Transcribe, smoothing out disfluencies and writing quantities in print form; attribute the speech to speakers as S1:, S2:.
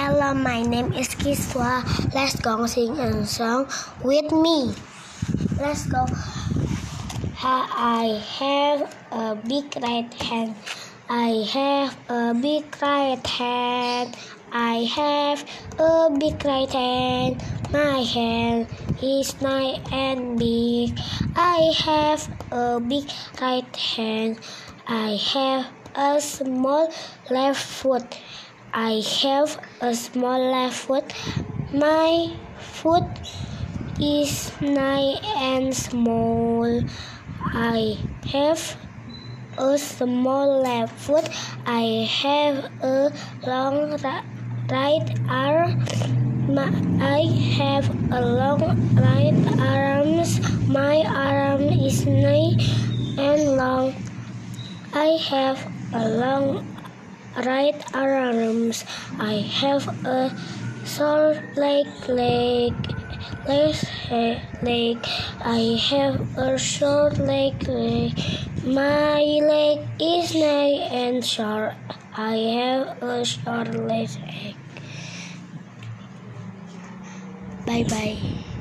S1: Hello, my name is Kiswa. Let's go sing a song with me. Let's go. I have a big right hand. I have a big right hand. I have a big right hand. My hand is nice and big. I have a big right hand. I have a small left foot. I have a small left foot. My foot is nice and small. I have a small left foot. I have a long right arm. I have a long right arms. My arm is nice and long. I have a long right arms. I have a short leg. I have a short leg. My leg is nice and short. I have a short leg. Bye bye.